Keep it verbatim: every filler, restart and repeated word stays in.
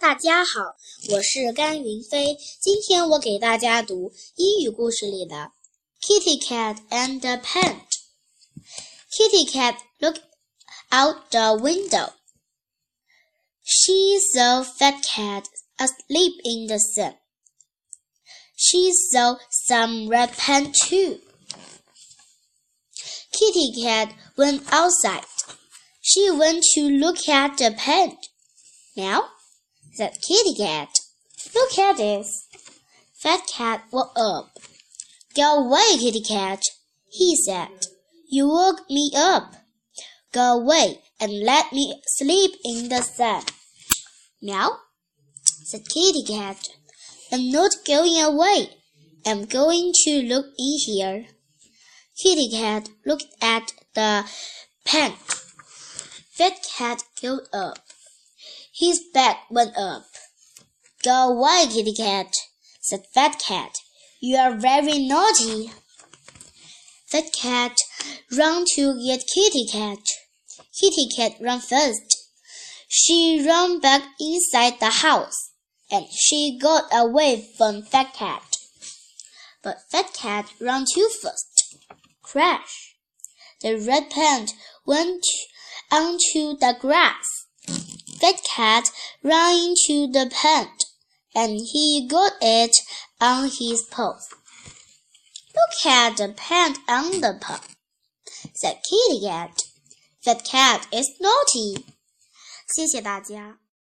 大家好，我是甘云飞。今天我给大家读英语故事里的 Kitty Cat and the Pen. Kitty Cat looked out the window. She saw Fat Cat asleep in the sun. She saw some red pen too. Kitty Cat went outside. She went to look at the pen. Meow, said Kitty Cat. Look at this. Fat Cat woke up. Go away, Kitty Cat, he said. You woke me up. Go away and let me sleep in the sun. Meow, said Kitty Cat. I'm not going away. I'm going to look in here. Kitty Cat looked at the pen. Fat Cat got up. His back went up. Go away, Kitty Cat, said Fat Cat. You are very naughty. Fat Cat ran to get Kitty Cat. Kitty Cat ran first. She ran back inside the house, and she got away from Fat Cat. But Fat Cat ran too fast. Crash! The red pen went onto the grass. Fat Cat ran into the pen, and he got it on his paws. Look at the pen on the paw, said Kitty Cat. Fat Cat is naughty. 谢谢大家。